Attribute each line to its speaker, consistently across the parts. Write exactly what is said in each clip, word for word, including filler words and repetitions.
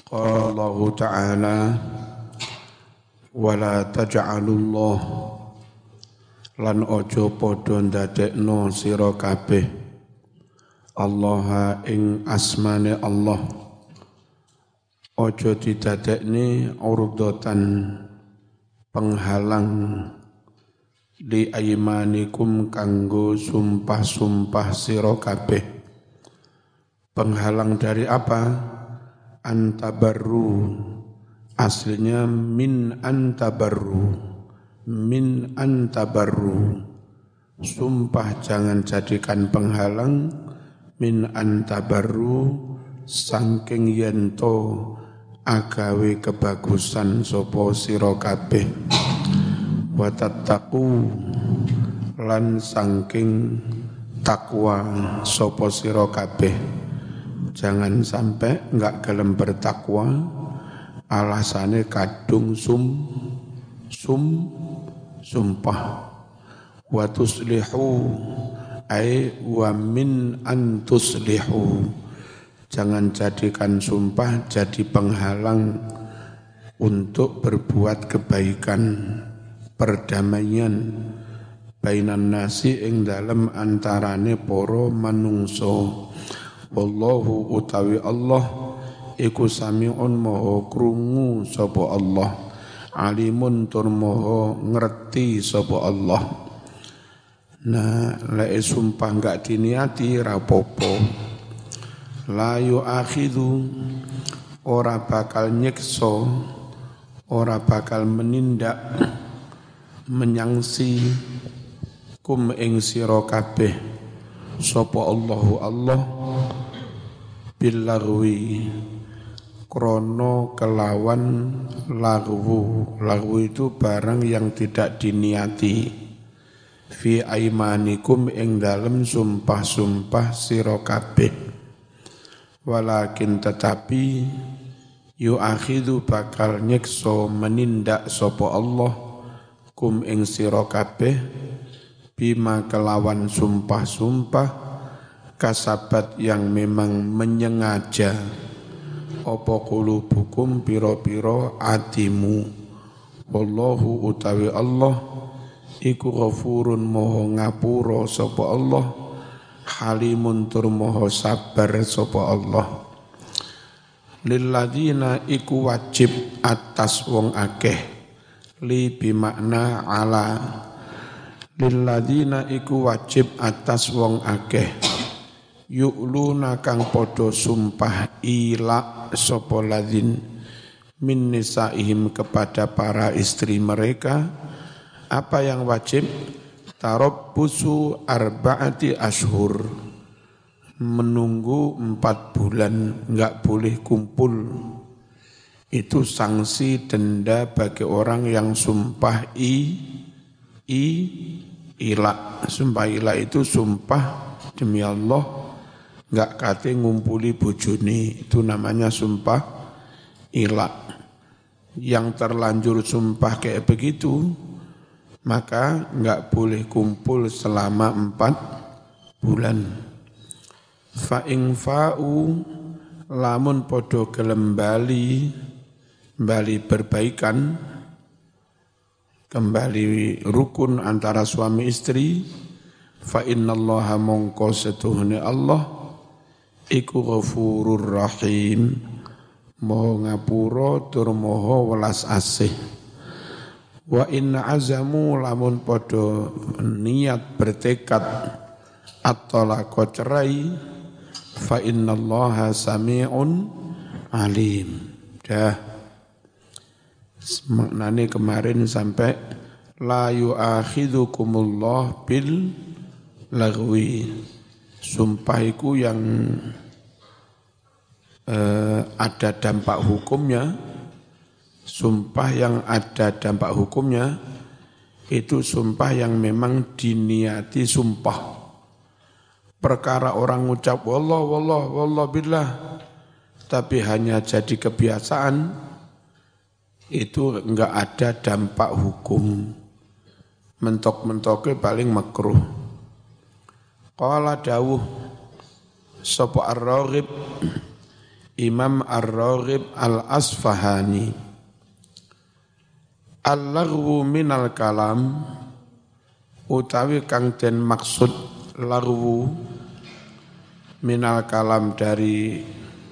Speaker 1: Qala Allah Ta'ala wala taj'alullah lan ojo padha ndadekno sira kabeh Allah ing asmane Allah ojo didadekne urdatan penghalang li aymanikum kanggo sumpah-sumpah sira kabeh. Penghalang dari apa? Antabarru, aslinya min antabarru, min antabarru, sumpah jangan jadikan penghalang min antabarru saking yento agawe kebagusan sapa sira kabeh wa tattaqu lan saking takwa sapa sira kabeh. Jangan sampai enggak gelem bertakwa alasannya kadung sum sum sumpah. Wa tuslihu ay wa min an tuslihu, jangan jadikan sumpah jadi penghalang untuk berbuat kebaikan, perdamaian bainan nasi ing dalem antarane para manungsa. Wallahu utawi Allah iku sami'un maha krungu sapa Allah, alimun tur maha ngerti sapa Allah. Nah, lek sumpah enggak diniati rapopo. La yu'akhidhu, ora bakal nyiksa, ora bakal menindak menyangsi kum ing sira kabeh sapa Allahu Allah billarwi krono kelawan lagwu. Lagwu itu barang yang tidak diniati fi aimanikum ing dalem sumpah-sumpah sira kabeh. Walakin tetapi yu'akhidhu bakal nyiksa menindak sapa Allah kum ing sira kabeh bima kelawan sumpah-sumpah kasabat yang memang menyengaja apa qulubukum piro-piro atimu. Wallahu utawi Allah iku ghafurun moho ngapura sapa Allah, halimun tur moho sabar sapa Allah. Lilladzina iku wajib atas wong akeh, li bimakna ala. Lilladzina iku wajib atas wong akeh, yu'luna kang podo sumpah ila sapa ladzin min nisaihim kepada para istri mereka. Apa yang wajib? Tarabbusu arba'ati ashur, menunggu empat bulan, enggak boleh kumpul. Itu sanksi denda bagi orang yang sumpah i i ila. Sumpah ila itu sumpah demi Allah enggak kate ngumpuli bojone, itu namanya sumpah ila. Yang terlanjur sumpah kayak begitu maka enggak boleh kumpul selama empat bulan. Fa ing fa'u lamun podo gelem bali bali berbaikan, kembali rukun antara suami istri, fa innallaha mongko setuhune Allah iku ghafurur rahim, moho ngapura tur moho welas asih. Wa inna azamu lamun podo niat bertekad at-talaqa cerai, fa innallaha sami'un alim. Dah maknane kemarin sampai la yu'akhidhukumullah bil lagwi, sumpah iku yang eh, ada dampak hukumnya. Sumpah yang ada dampak hukumnya itu sumpah yang memang diniati sumpah. Perkara orang ngucap wallah wallah wallah billah tapi hanya jadi kebiasaan, itu enggak ada dampak hukum. Mentok-mentoknya paling makruh. Qala dawuh sapa ar-Raghib Imam Ar-Raghib Al-Asfahani. Al-laghwu minal kalam utawi kang den maksud laghwu minal kalam dari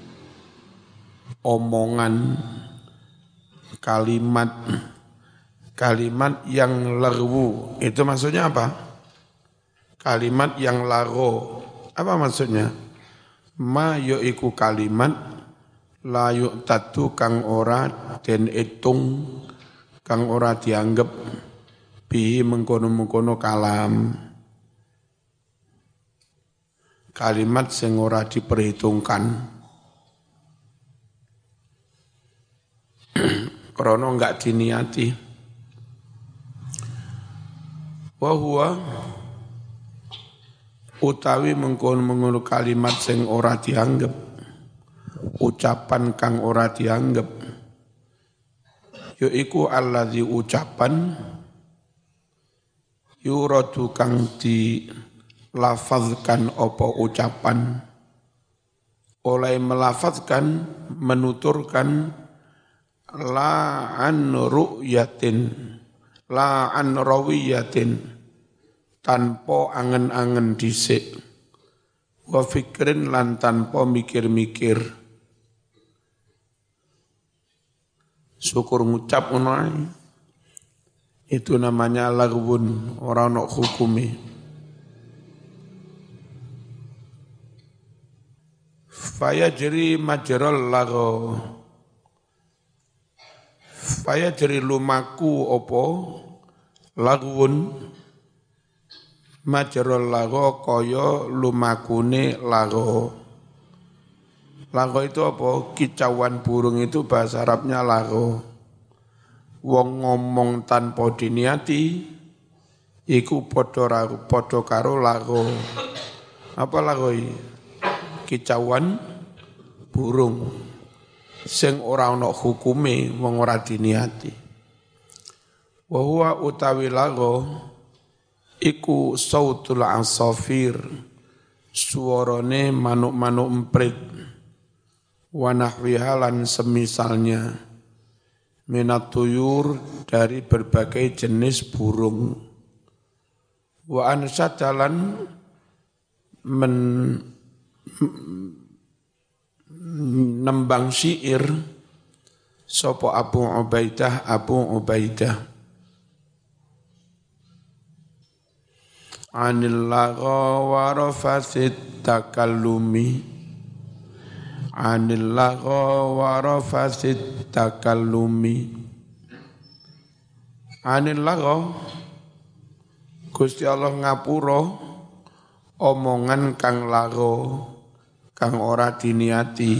Speaker 1: omongan, kalimat kalimat yang laghwu itu maksudnya apa? Kalimat yang lagho apa maksudnya? Ma yaiku kalimat la yu'tatu kang ora den itung, kang ora dianggep bihi mengkono-mengkono kalam. Kalimat sing ora diperhitungkan. Krono enggak diniati. Wa huwa utawi mengkono-mengkono kalimat sing ora dianggep, ucapan kang ora dianggep, yaiku alladzi ucapan yuradu kang dilafazkan apa ucapan, oleh melafazkan menuturkan la an ru'yatin la an rawiyatin tanpa angen-angen dhisik wa fikrin lan tanpa mikir-mikir. Syukur ngucap ngono itu namanya laghwun, ora ono hukume. Faya jeri majral lagho faya jeri lumaku opo laghwun majral lagho kaya lumakune lagho. Lagho itu apa? Kicauan burung itu bahasa Arabnya lagho. Wong ngomong tanpa diniati iku padha padha karo lagho. Apa lagho iki? Kicauan burung sing ora ana hukume wong ora diniati. Wa huwa utawi lagho iku sautul asafir, suarane manuk-manuk emprit, wa nahwiha lan semisalnya, minat tuyur dari berbagai jenis burung, wa ansadalan men nembang syair sapa Abu Ubaidah Abu Ubaidah anil lagha wa rafasit takallumi anil lagha wa rafasit takallumi anil lagha Gusti Allah ngapura omongan kang lagha kang ora diniati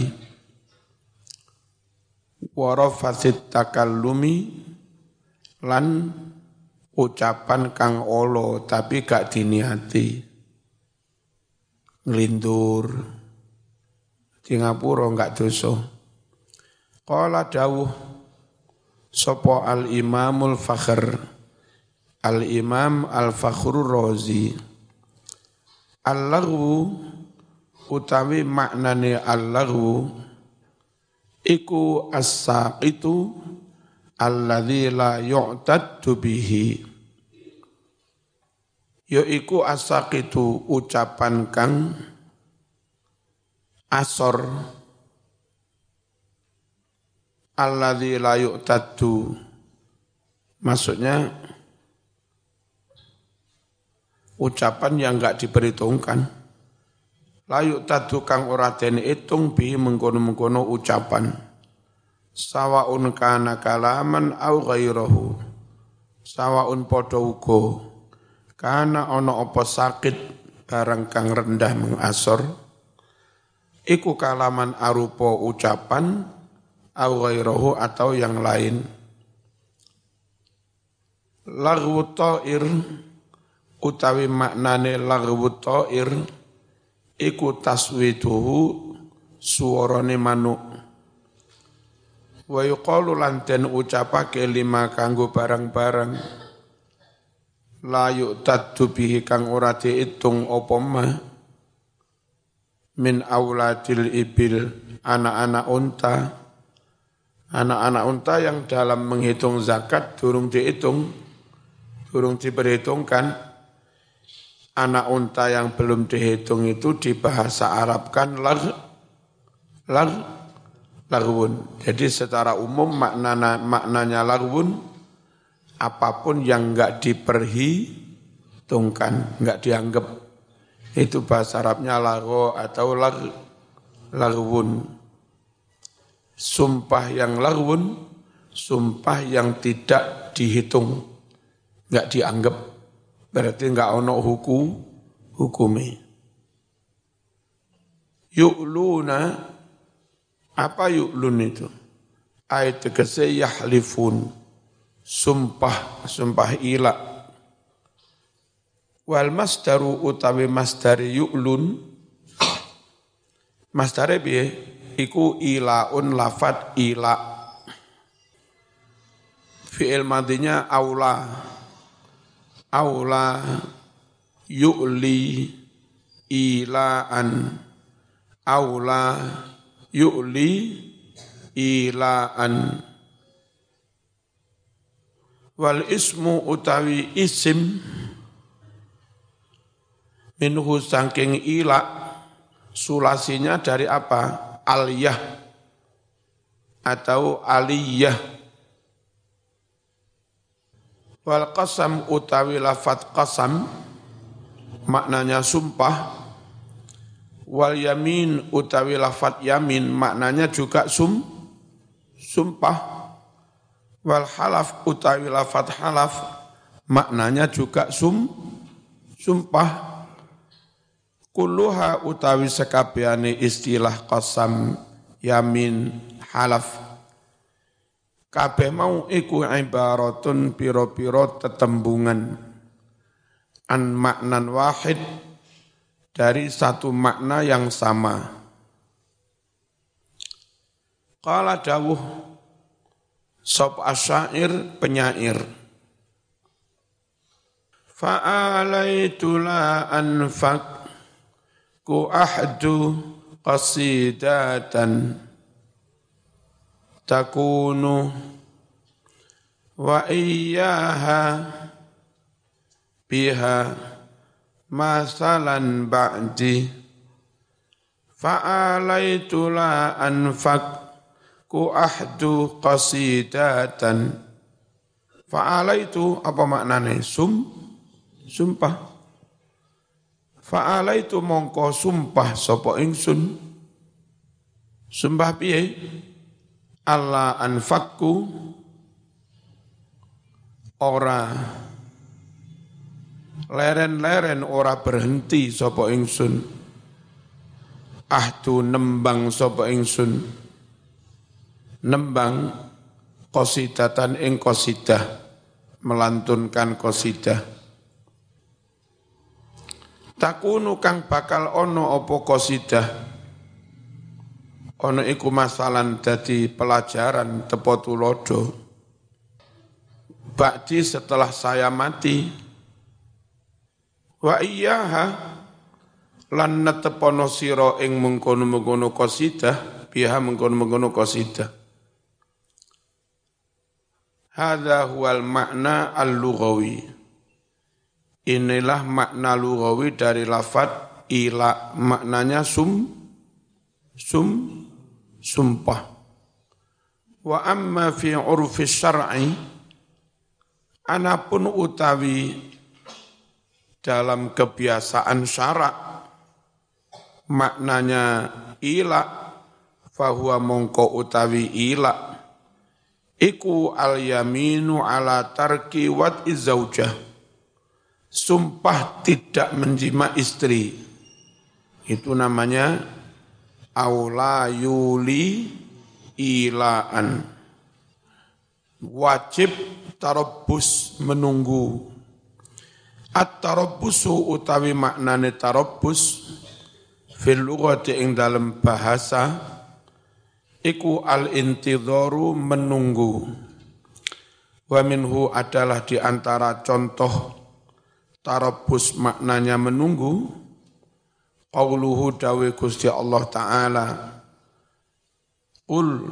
Speaker 1: wa rafasit takallumi lan ucapan kang olo tapi gak diniati, ngelindur di ngapura gak dosa. Qala dawuh sapa al imamul fakhr al imam al fakhrur razi al-laghwu utawi maknane al-laghwu iku as-saqitu alladzi la yu'taddu bihi, yaiku as-saqitu ucapan kang asor alladzi la yu'taddu, maksudnya ucapan yang enggak diperhitungkan, la yu'taddu kang ora den itung bihi mengkono-mengkono ucapan. Sawaun kana kalaman au ghairahu, sawaun padha uga kana ana apa sakit barang kang rendah mengasor iku kalaman arupa ucapan au ghairahu atau yang lain. Laghwu ta'ir utawi maknane laghwu ta'ir iku taswiduhu suarane manuk. Wa yuqalu lan den ucapake lima kanggo barang-barang la yu'taddu bihi kang ora diitung apa mah min auladil ibil anak-anak unta. Anak-anak unta yang dalam menghitung zakat durung dihitung, durung diperhitungkan. Anak unta yang belum dihitung itu di bahasa Arab kan lag, lag, lagwun. Jadi secara umum maknanya, maknanya lagwun, apapun yang enggak diperhitungkan, enggak dianggap. Itu bahasa Arabnya lago atau lag, lagwun. Sumpah yang lagwun, sumpah yang tidak dihitung, enggak dianggap. Berarti enggak ono hukum, hukumi. Yu'luna, apa yu'lun itu? Ayat tegese yahlifun, sumpah, sumpah ila. Wal masdaru utawi masdari yu'lun, masdare piye? Iku ilaun lafat ila. Fi'il madinya aula. Aula yu'li ilaan. Aula yu'li ilaan. Wal ismu utawi isim minhu saking ila, sulasinya dari apa? Aliyah atau aliyah. Wal qasam utawi lafat qasam maknanya sumpah. Wal yamin utawi lafat yamin maknanya juga sum sumpah. Wal halaf utawi lafat halaf maknanya juga sum sumpah. Kulluha utawi sekabehane istilah qasam, yamin, halaf kabeh mau iku ibaratun piro-piro tetembungan an maknan wahid dari satu makna yang sama. Qala dawuh sop asyair penyair. Fa'alaitu la anfak ku ahdu qasidatan takunu wa iyyaha biha masalan ba'di fa'alaitu la anfak ku ahdu qasidatan. Fa'alaitu apa maknanya? Sum, sumpah. Fa'alaitu mongko sumpah sapa ingsun. Sumpah piye? Allah anfakku ora leren-leren ora berhenti sapa ingsun. Ahdu nembang sapa ingsun. Nembang qasidatan ing qasidah, melantunkan qasidah. Takunu kang bakal ono apa qasidah. Ono iku masalan dadi pelajaran tepo tulodo. Ba'di setelah saya mati. Wa iyyaha lan netepono sira ing mengkono-mengkono qasidah, biha mengkono-mengkono qasidah. Hadza huwal makna al-lughawi. Inilah makna lughawi dari lafaz ila, maknanya sum sum sumpah. Wa amma fi urfi syar'i, anapun utawi dalam kebiasaan syarak maknanya ila, fahuwa mongko utawi ila iku al yaminu ala tarki wat izaujah, sumpah tidak menjima istri, itu namanya aula yuli ilaan. Wajib tarabbus menunggu. At-tarabbusu utawi maknane tarabbus fil lughati ing dalam bahasa iku al-intidharu menunggu. Wa minhu adalah di antara contoh tarabbus maknanya menunggu qauluhu dawe Gusti Allah Ta'ala Qul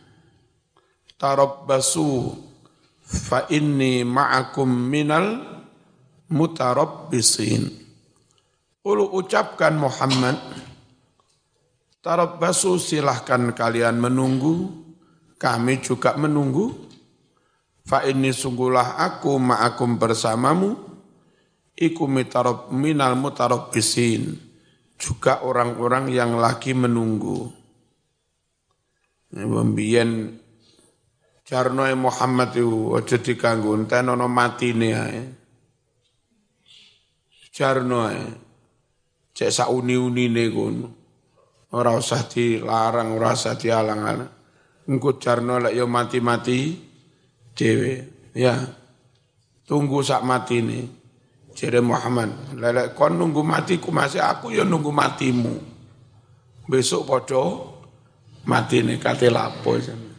Speaker 1: tarabbasu fa inni ma'akum minal mutarabbisin. Qul ucapkan Muhammad, tarabbasu silahkan kalian menunggu, kami juga menunggu. Fa inni sungguhlah aku ma'akum bersamamu, iku mitarab minal mutarabbisin, juga orang-orang yang lagi menunggu. Mbien jarno Muhammad itu aja diganggu, enten ana matine ae. Jarno ae. Cek sauni-unine kono. Ora usah dilarang, ora usah dialang-alang. Engko jarno lek ya mati-mati dhewe. Ya. Tunggu sak matine. Jere Muhammad, lek kon nunggu matiku masih aku ya nunggu matimu. Besok padha matine kate lapo.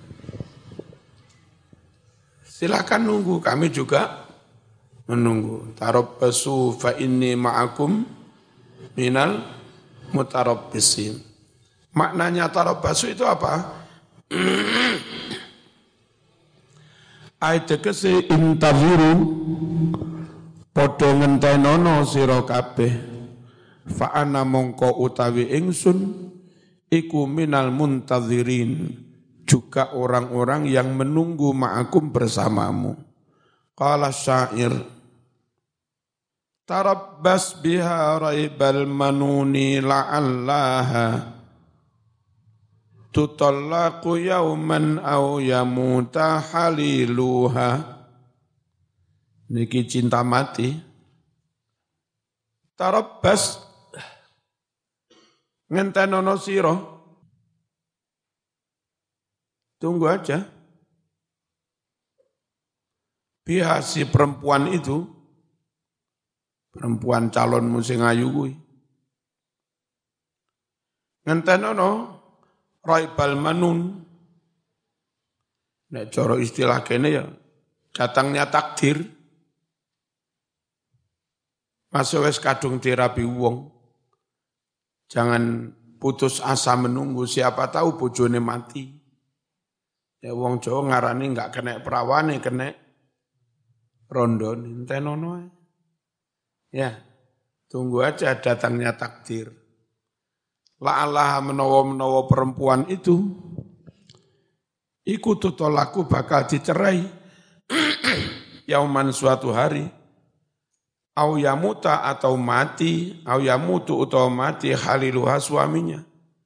Speaker 1: Silakan nunggu, kami juga menunggu. Tarabbasu fa inni ma'akum minal mutarabbisin. Maknanya tarabbasu itu apa? Ayat tegese intaziru padha ngentenono sira kabeh. Fa ana mongko utawi ingsun iku minal muntazirin, juga orang-orang yang menunggu ma'akum bersamamu. Qala syair, tarabbas biha raibal manuni la'allaha tutallaqu yauman aw yamuta haliluha. Niki cinta mati. Tarabbas ngentenono sira, tunggu aja. Biha si perempuan itu, perempuan calonmu sing ayu kuwi. Ngentenono raibal manun. Nek cara istilah kene ya datangnya takdir. Masuk wis kadung dirabi wong. Jangan putus asa menunggu, siapa tahu bojone mati. Ya wong Jawa ngarani enggak kena perawane, kena rondone, entenono. Ya, tunggu aja datangnya takdir. La'allaha menawa-menawa perempuan itu iku tutolaku bakal dicerai yauman suatu hari. Au yamuta atau mati, au yamutu atau mati haliluha suaminya.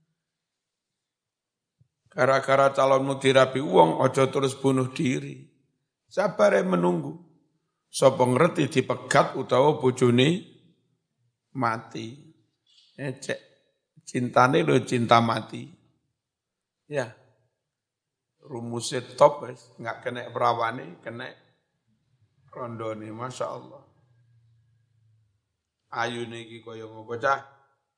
Speaker 1: Gara-gara calonmu dirabi uang, ojo terus bunuh diri. Sabar menunggu. Sapa ngerti dipegat utawa bojone mati. Ecek cintane lho cinta mati. Ya. Rumusnya top wis, enggak kena perawane, kena rondone, Masya Allah. Ayu niki kaya ngopo cah.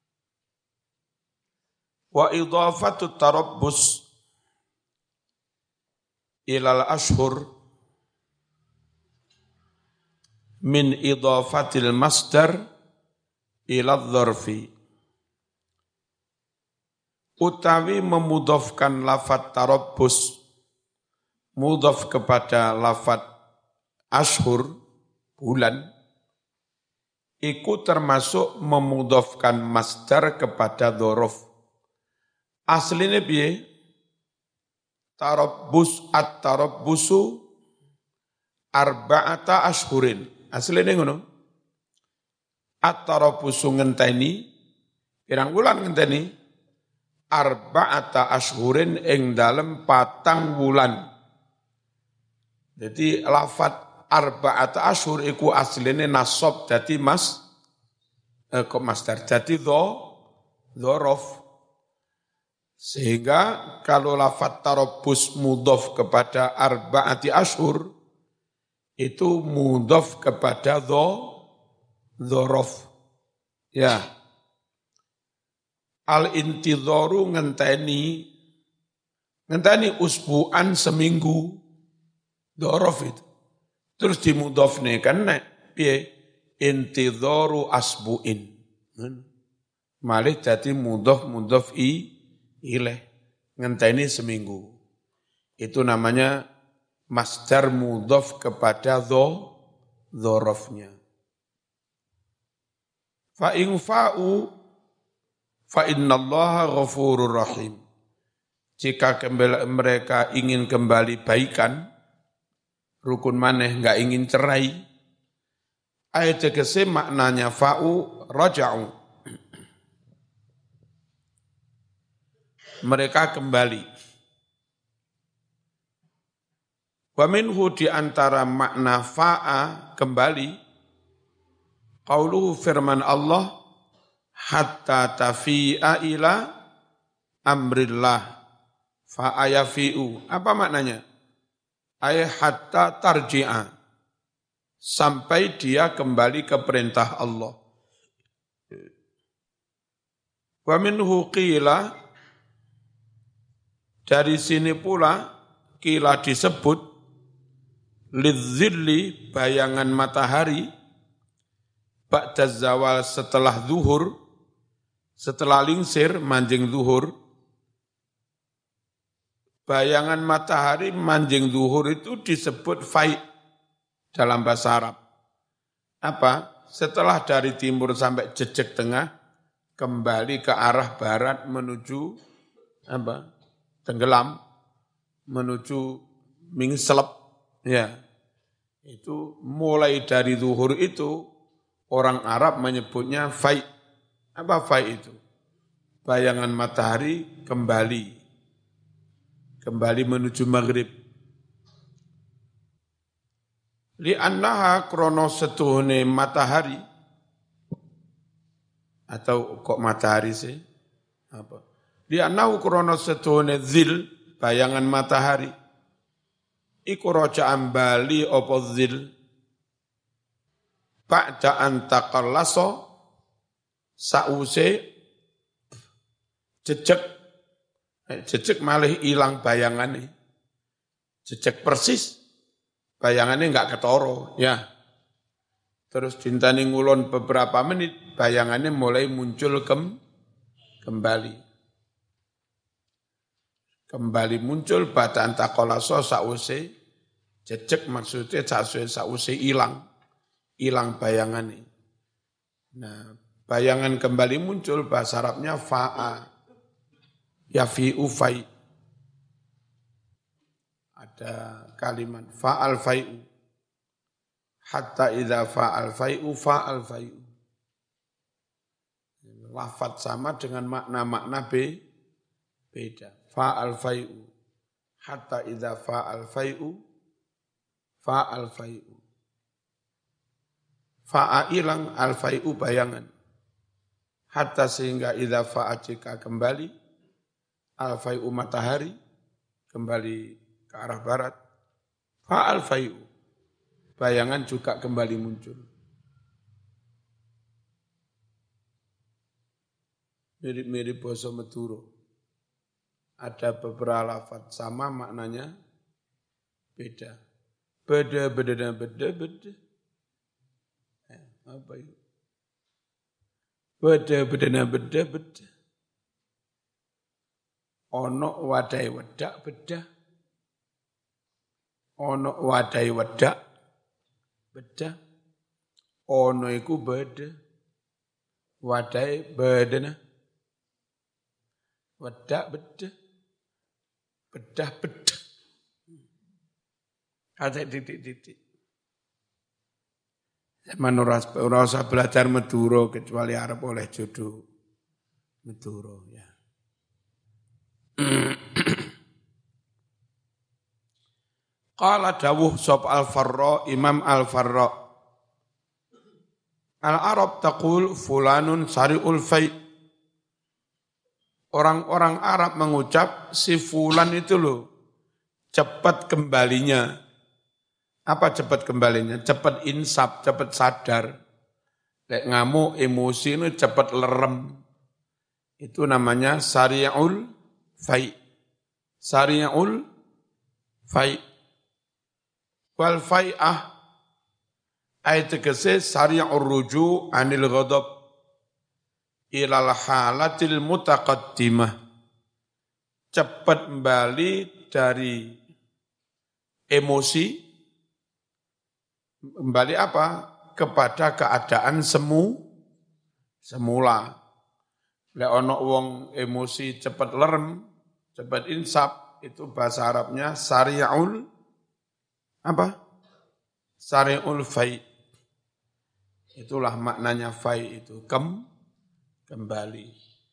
Speaker 1: Wa idhafatu tarabbus ilal ashhur min idhafatil masdar ila dzarfi. Utawi memudhafkan lafaz tarabbus mudhaf kepada lafaz ashhur bulan, iku termasuk memudhafkan masdar kepada dzaraf. Asline piye? Tarabbus at-tarabbusu arba'ata ashhurin. Asline ngono. At-tarabbusu ngenteni pirang wulan ngenteni? Arba'ata ashhurin ing dalem patang wulan. Jadi lafaz arba'ata ashhur iku asline nasab dadi mas eh, kok masdar dadi dho dzaraf. Sehingga kalau lafaz tarabbus mudhaf kepada arba'ati ashhur itu mudhaf kepada dho dzaraf. Ya. Al-intidharu ngenteni ngenteni usbu'an seminggu dzaraf itu. Terus dimudhafne kan nek piye intidharu asbu'in. Malih dadi mudhaf mudhaf i ilaih. ngenteni seminggu. Itu namanya masdar mudhof kepada dho, dhorofnya. Fa in fa'u fa innallaha ghafurur rahim. Jika kembali, mereka ingin kembali baikan, rukun maneh enggak ingin cerai, ayat tegese maknanya fa'u raja'u. Mereka kembali. Wa minhu di antara makna fa'a kembali, qauluhu firman Allah, hatta tafi'a ila amrillah fa'a yafi'u. Apa maknanya? Ay hatta tarji'a, sampai dia kembali ke perintah Allah. Wa minhu qila, dari sini pula qila disebut lidzilli, bayangan matahari, ba'da zawal, setelah zuhur, setelah lingsir manjing zuhur. Bayangan matahari manjing zuhur itu disebut fai dalam bahasa Arab. Apa? Setelah dari timur sampai jejak tengah, kembali ke arah barat menuju apa? Tenggelam, menuju mingselep. Ya, itu mulai dari zuhur itu orang Arab menyebutnya fai. Apa fai itu? Bayangan matahari kembali, kembali menuju maghrib. Li'annaha krono setuhune matahari, atau kok matahari sih? Apa? Li'annahu krono setuhune zil, bayangan matahari. Iku roja'an bali opo zil, ba'da antaqallaso, sause jejek, jejek malih ilang bayangannya, jejek persis, bayangannya enggak ketoro, ya. Terus dintani ngulon beberapa menit, bayangannya mulai muncul kem, kembali. Kembali muncul ba'da antaqallaso, sause jejek, maksudnya sause ilang, ilang bayangannya. Nah, bayangan kembali muncul, bahasa Arabnya fa'a, yafi'u fai. Ada kalimat fa'al fai'u, hatta idza fa'al fai'u fa'al fai'u. Lafaz sama dengan makna-makna be, beda. Fa'al fai'u, hatta idza fa'al fai'u fa'al fai'u. Fa'a ilang, al fai'u bayangan. Hatta sehingga idza fa'a jika kembali, al fai'u matahari, kembali ke arah barat, fa'al fai'u, bayangan juga kembali muncul. Mirip-mirip basa Madura. Ada beberapa lafaz sama maknanya beda. Beda, beda, beda, beda. Eh, apa itu? Beda, beda, beda, beda. Ono wadai wedak beda. Ono wadai wedak beda. Ono iku beda. Wadai bedana. Wedak beda. Bedah beda. Ada titik-titik. Zaman ora usah belajar Madura kecuali Arab oleh jodoh Madura ya. Qala dawuh sop al-Farra, Imam al-Farra, al-Arab taqul fulanun sari'ul fai'. Orang-orang Arab mengucap si fulan itu loh cepat kembalinya. Apa cepat kembalinya? Cepat insaf, cepat sadar. Lek ngamuk, emosi itu cepat lerem. Itu namanya sari'ul fai'. Sari'ul fai'. Wal fai'ah ayat tegese sari'ur ruju' anil ghadab ilal halatil mutaqaddimah. cepat kembali dari emosi, kembali apa? Kepada keadaan semu, semula. Lek ono wong emosi cepat lerem, cepat insaf, itu bahasa Arabnya sari'ul apa? Sari'ul fai. Itulah maknanya fai itu, kem, kembali.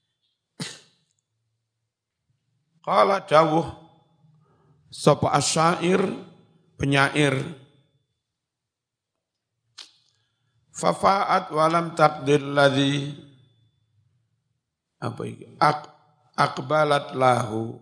Speaker 1: Qala dawuh sapa asyair penyair fafa'at walam taqdir ladzi apa iki Ak, akbalat lahu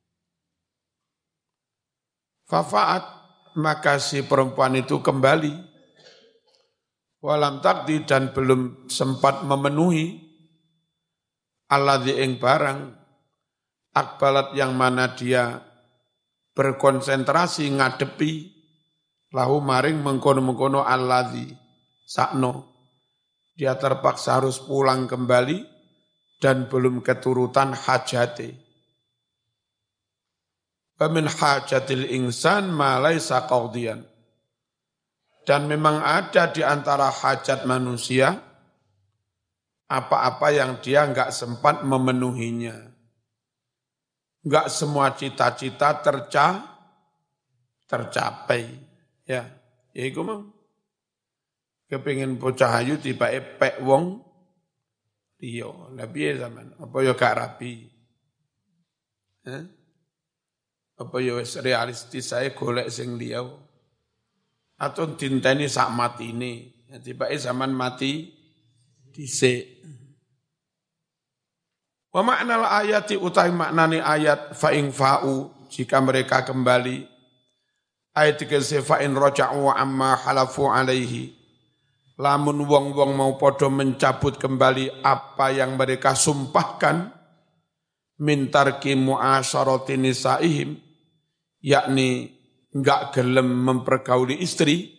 Speaker 1: fafa'at maka si perempuan itu kembali walam taqdir dan belum sempat memenuhi alladzi ing barang akbalat yang mana dia berkonsentrasi ngadepi lahu maring mengkono-mengkono alladzi sakno. Dia terpaksa harus pulang kembali dan belum keturutan hajate. Wa min hajatil insan ma laisa qadiyan. Dan memang ada di antara hajat manusia apa-apa yang dia enggak sempat memenuhinya. Enggak semua cita-cita terca, tercapai. Ya, ya iku mau. Kepingin bocah ayu tiba epek wong liya. Lah piye zaman? Apa ya gak rapi? Eh? Apa ya wis realistis saya golek sing liya. Atau dinteni sak matine. Ya tiba zaman mati dhisik. Wa ma'nal ayati utai maknani ayat fa'ing fa'u jika mereka kembali ayat dikese fa'in roja'u amma halafu alaihi lamun wong-wong mau podo mencabut kembali apa yang mereka sumpahkan min tarki mu'asyarati nisaihim yakni enggak gelem mempergauli istri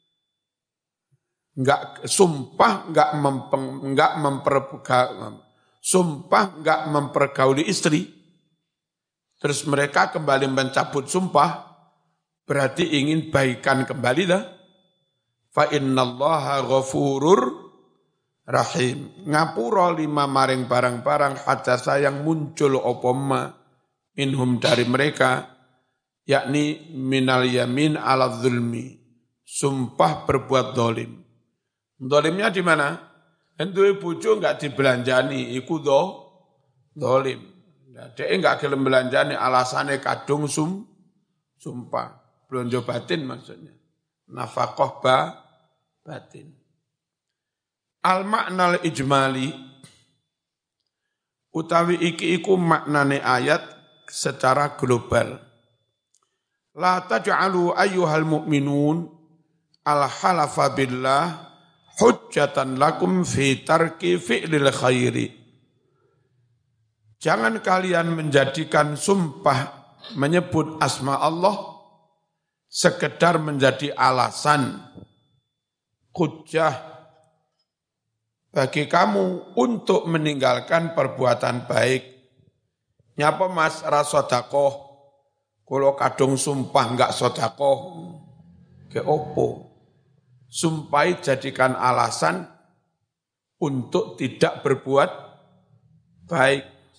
Speaker 1: enggak sumpah enggak mempeng, enggak mempergauli sumpah enggak mempergauli istri, terus mereka kembali mencabut sumpah, berarti ingin baikan kembali dah. Fa innallaha ghafurur rahim. Ngapura lima maring barang-barang hadasa yang muncul opoma minhum dari mereka, yakni minal yamin ala zulmi, sumpah berbuat dolim. Dolimnya di mana? Entuhe bojo enggak dibelanjani, iku do, dolim. Nah, dia enggak gelem belanjani, alasannya kadung sum, sumpah. Belanja batin maksudnya. Nafaqah ba, batin. Al-maknal ijmali, utawi iki iku maknane ayat secara global. La taj'alu ayyuhal mu'minun al-halafa billah hujjatan lakum fi tarki fi'lil khairi. Jangan kalian menjadikan sumpah menyebut asma Allah sekedar menjadi alasan hujjah bagi kamu untuk meninggalkan perbuatan baik. Nyapa mas rasodakoh, kalau kadung sumpah enggak sodakoh, ke opo? Sumpahi jadikan alasan untuk tidak berbuat baik.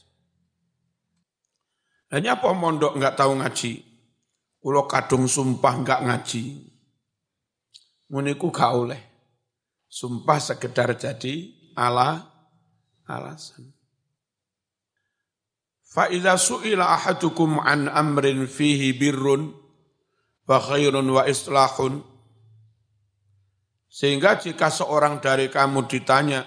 Speaker 1: Hanya apa mondok enggak tahu ngaji? Kalau kadung sumpah enggak ngaji. Muniku gak oleh. Sumpah sekedar jadi ala alasan. Fa idza su'ila ahadukum an amrin fihi birrun wa khairun wa islahun. Sehingga jika seorang dari kamu ditanya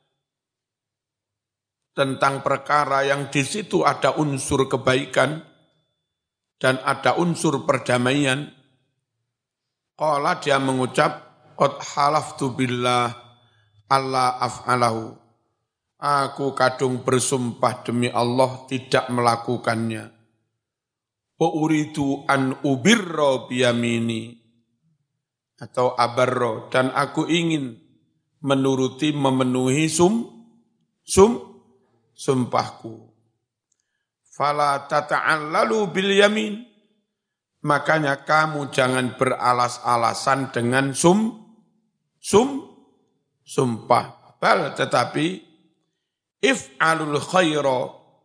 Speaker 1: tentang perkara yang di situ ada unsur kebaikan dan ada unsur perdamaian, qala dia mengucap, qad halaftu billah alla af'alahu. Aku kadung bersumpah demi Allah tidak melakukannya. Wa uridu an ubirra biyamini. Atau abarro, dan aku ingin menuruti memenuhi sum, sum, sumpahku. Fala tata'allalu bil yamin. Makanya kamu jangan beralas-alasan dengan sum, sum, sumpah. Bal tetapi if'alul khaira,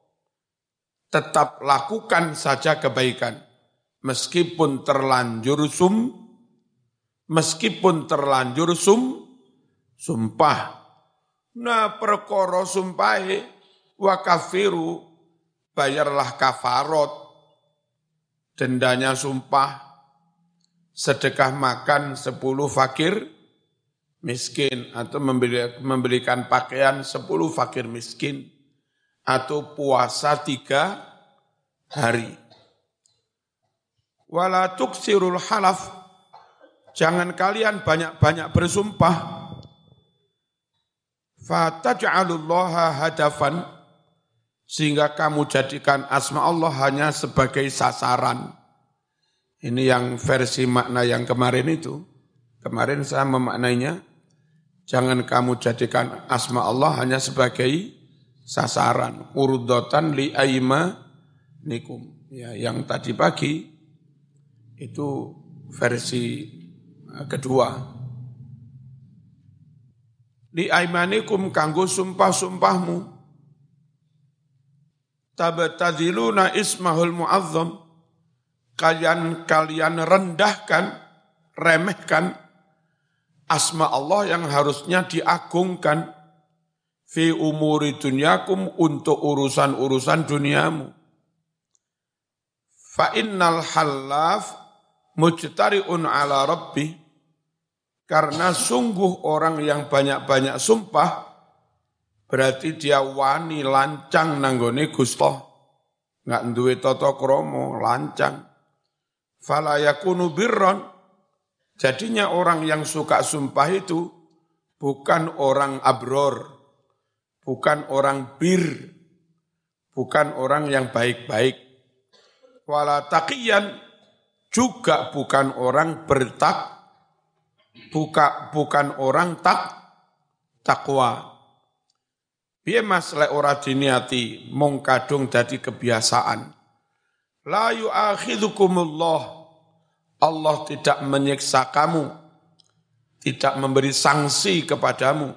Speaker 1: tetap lakukan saja kebaikan. Meskipun terlanjur sum, meskipun terlanjur sum, sumpah. Nah perkara sumpahe wa kafiru, bayarlah kafarot. Dendanya sumpah, sedekah makan sepuluh fakir miskin, atau membeli, membelikan pakaian sepuluh fakir miskin, atau puasa tiga hari. Wala tuksirul halaf, jangan kalian banyak-banyak bersumpah. Fataj'alullaha hadafan, sehingga kamu jadikan asma Allah hanya sebagai sasaran. Ini yang versi makna yang kemarin itu. Kemarin saya memaknainya, jangan kamu jadikan asma Allah hanya sebagai sasaran. Urdotan li aimanikum. Ya, yang tadi pagi itu versi kedua. Li aimanikum kanggo sumpah-sumpahmu. Tabtadziluna ismahul mu'azzam, kalian kalian rendahkan, remehkan asma Allah yang harusnya diagungkan fi umuri dunyakum, untuk urusan-urusan duniamu. Fa innal halaf mujtari'un ala rabbi, karena sungguh orang yang banyak-banyak sumpah berarti dia wani lancang nanggone Gusti, nggak duwe tata krama, lancang. Fala yakunu birron, jadinya orang yang suka sumpah itu bukan orang abror, bukan orang bir, bukan orang yang baik-baik. Wala taqiyan, juga bukan orang bertak, buka, bukan orang tak takwa. Piye mas lek ora diniati mung kadung dadi kebiasaan. La yu'akhidhukumullah, Allah tidak menyiksa kamu, tidak memberi sanksi kepadamu.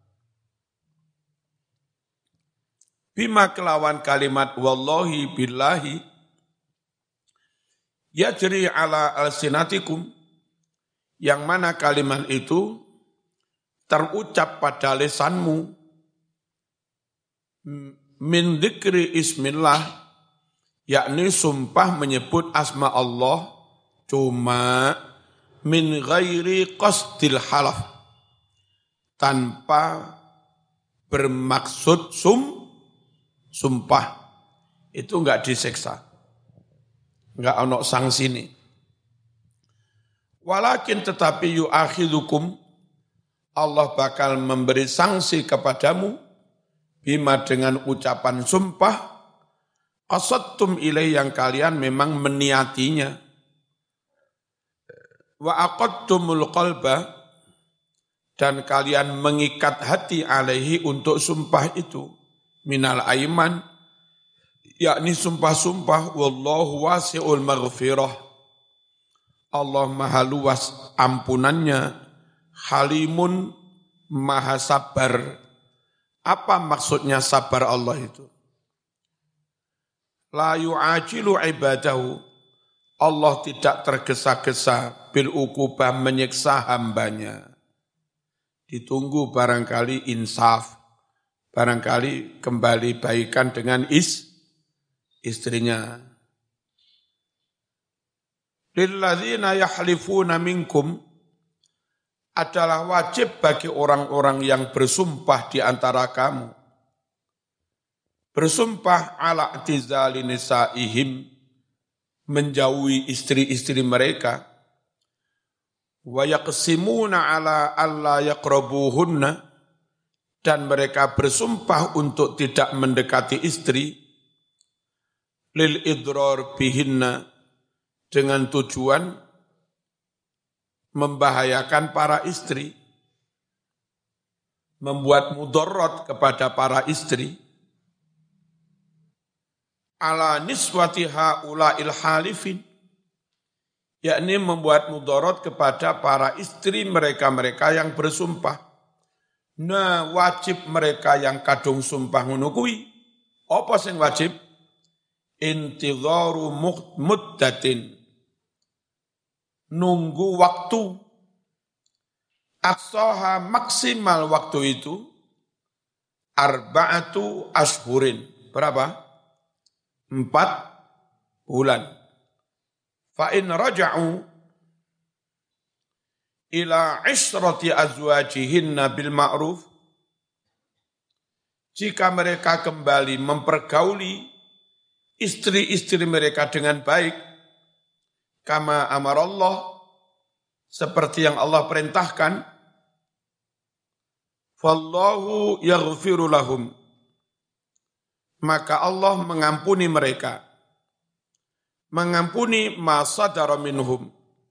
Speaker 1: Bima kelawan kalimat wallahi billahi yajri ala alsinatikum, yang mana kalimat itu terucap pada lisanmu, min dzikri ismillah, yakni sumpah menyebut asma Allah, cuma min ghairi qasdil halaf, tanpa bermaksud sum sumpah, itu enggak disiksa, enggak ono sanksi ini. Walakin tetapi yu'akhidhukum, Allah bakal memberi sanksi kepadamu bima dengan ucapan sumpah qasadtum ilai, yang kalian memang meniatinya. Wa aqadtumul qalba, dan kalian mengikat hati alaihi untuk sumpah itu, minal aiman, yakni sumpah-sumpah. Wallahu wasi'ul maghfirah, Allah maha luas ampunannya. Halimun, maha sabar. Apa maksudnya sabar Allah itu? La yu'ajilu ibadahu, Allah tidak tergesa-gesa bil ukubah menyiksa hambanya. Ditunggu barangkali insaf, barangkali kembali baikan dengan is, istrinya. Lilladzina yahlifuna minkum, adalah wajib bagi orang-orang yang bersumpah di antara kamu. Bersumpah ala i'tizali nisaihim, menjauhi istri-istri mereka. Wa yaqsimuna ala alla yaqrabuhunna, dan mereka bersumpah untuk tidak mendekati istri. Lil idrar bihinna, dengan tujuan membahayakan para istri, membuat mudarat kepada para istri. ala niswati haula'il halifin, yakni membuat mudarat kepada para istri mereka-mereka yang bersumpah. Nah, wajib mereka yang kadung sumpah ngono kuwi. Apa sing wajib? Intidharu muddatin, nunggu waktu. Aqsaha maksimal waktu itu arba'atu ashhurin. Berapa? Empat bulan. Fa in raja'u ila ishrati azwajihinna bil ma'ruf, jika mereka kembali mempergauli istri-istri mereka dengan baik, kama amarallah, seperti yang Allah perintahkan, fallahu yaghfiru lahum, maka Allah mengampuni mereka, mengampuni ma sadara minhum,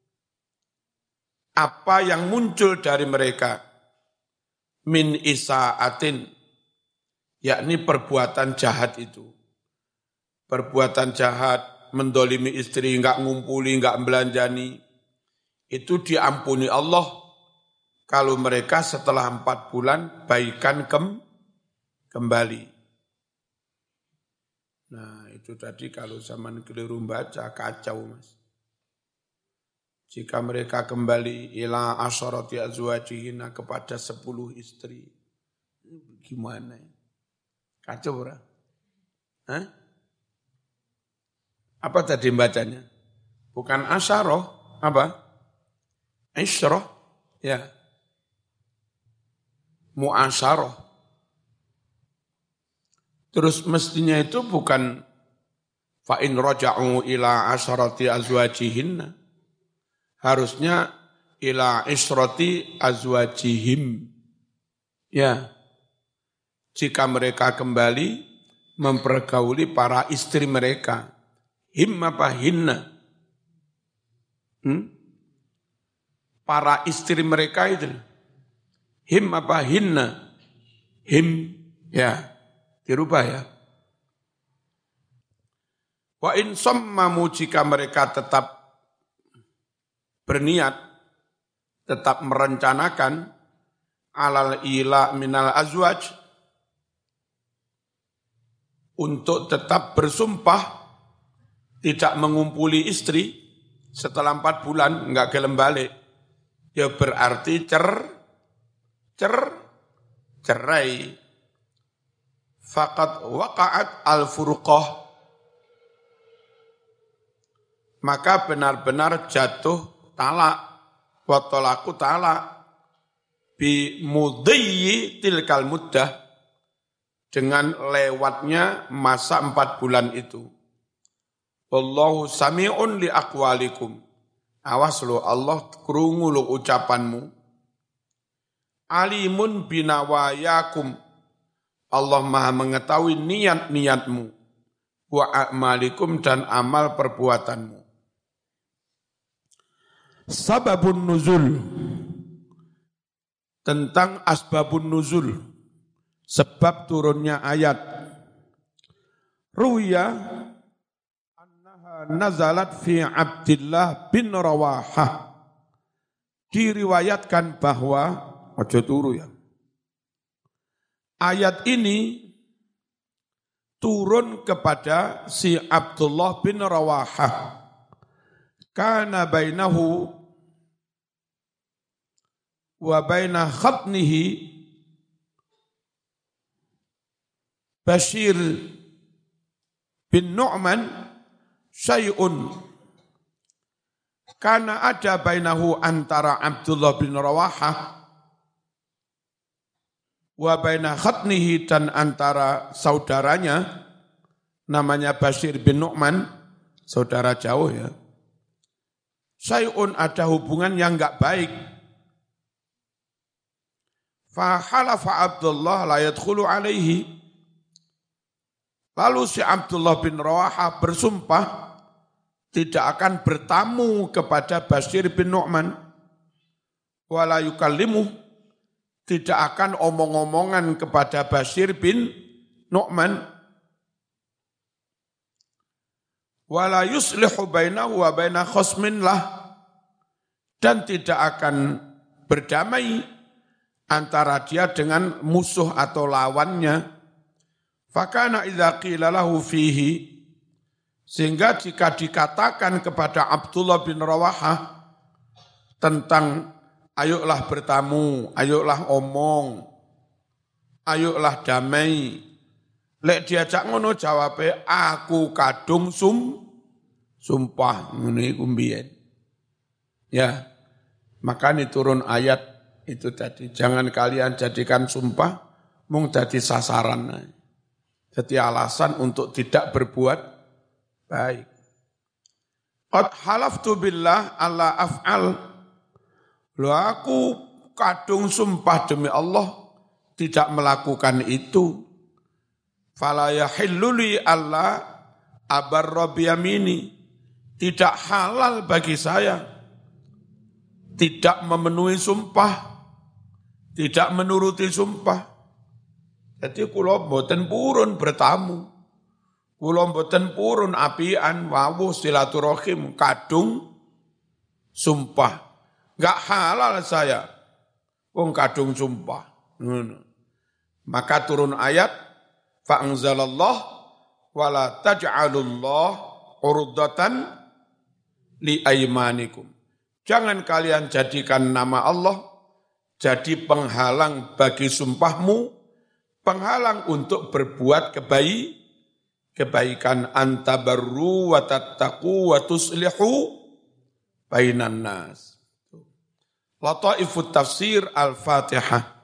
Speaker 1: apa yang muncul dari mereka, min isa'atin, yakni perbuatan jahat itu. Perbuatan jahat, mendolimi istri, enggak ngumpuli, enggak belanjani, itu diampuni Allah kalau mereka setelah empat bulan baikan kem, kembali. Nah itu tadi kalau zaman keliru baca, kacau mas. Jika mereka kembali ila asyarati azwajihina, kepada sepuluh istri, gimana ya? Kacau ora? Hah? Apa tadi bacanya? Bukan asyarah, apa? Isyrah, ya. Mu'asyarah. Terus mestinya itu bukan fa in raja'u ila asyarati azwajihinna. Harusnya ila isyrati azwajihim. Ya. Jika mereka kembali mempergauli para istri mereka. Him apa hinna? Hmm? Para istri mereka itu. Him apa hinna? Him, ya. Dirubah ya. Wa in sammamu, jika mereka tetap berniat, tetap merencanakan alal ila minal azwaj, untuk tetap bersumpah tidak mengumpuli istri setelah empat bulan, enggak gelem balik, ya berarti cer, cer, cerai. Faqad waqa'at al-furqah, maka benar-benar jatuh talak, wa talaku talak, bi mudhiyi tilkal muddah, dengan lewatnya masa empat bulan itu. Wallahu sami'un li aqwalikum. Awas lo, Allah krungu lo ucapanmu. Alimun binawayakum. Allah Maha mengetahui niat-niatmu. Wa a'malikum, dan amal perbuatanmu. Sababun nuzul. Tentang asbabun nuzul. Sebab turunnya ayat. Ruya nazalat fi Abdillah bin Rawahah. Diriwayatkan bahwa, ojo turu ya, ayat ini turun kepada si Abdullah bin Rawahah. Kana bainahu wa baina khatnihi Bashir bin Nu'man syai'un, karena ada bainahu, antara Abdullah bin Rawahah, wa baina khatnihi, dan antara saudaranya namanya Bashir bin Nu'man, saudara jauh ya. Syai'un, ada hubungan yang enggak baik. Fa halafa Abdullah la yadkhulu alaihi. Lalu si Abdullah bin Rawahah bersumpah tidak akan bertamu kepada Bashir bin Nu'man, wala yukallimuh, tidak akan omong-omongan kepada Bashir bin Nu'man. wala yuslihu bainahu wa baina khosmin lah, dan tidak akan berdamai antara dia dengan musuh atau lawannya. Fakana idza qila lahu fihi, sehingga jika dikatakan kepada Abdullah bin Rawahah tentang ayolah bertamu, ayolah omong, ayolah damai, lek diajak ngono jawabe aku kadung sum sumpah ngene iku mbiyen. Ya, makanya turun ayat itu tadi, jangan kalian jadikan sumpah mung dadi sasaran, jadi alasan untuk tidak berbuat baik. Qad halaftu billah alla af'al, lo aku kadung sumpah demi Allah tidak melakukan itu. Fala yahillu li alla abarra biyamini, tidak halal bagi saya tidak memenuhi sumpah, tidak menuruti sumpah. Jadi kula mboten purun bertamu, kula mboten purun apian wawuh silaturahim kadung sumpah. Enggak halal saya wong kadung sumpah. Hmm. Maka turun ayat fa anzalallah wala taj'alullah urdatan li aymanikum. Jangan kalian jadikan nama Allah jadi penghalang bagi sumpahmu, penghalang untuk berbuat kebaik, kebaikan. Antabarru wa tattaqu wa tuslihu bainan nas. Lataifut tafsir Al-Fatihah.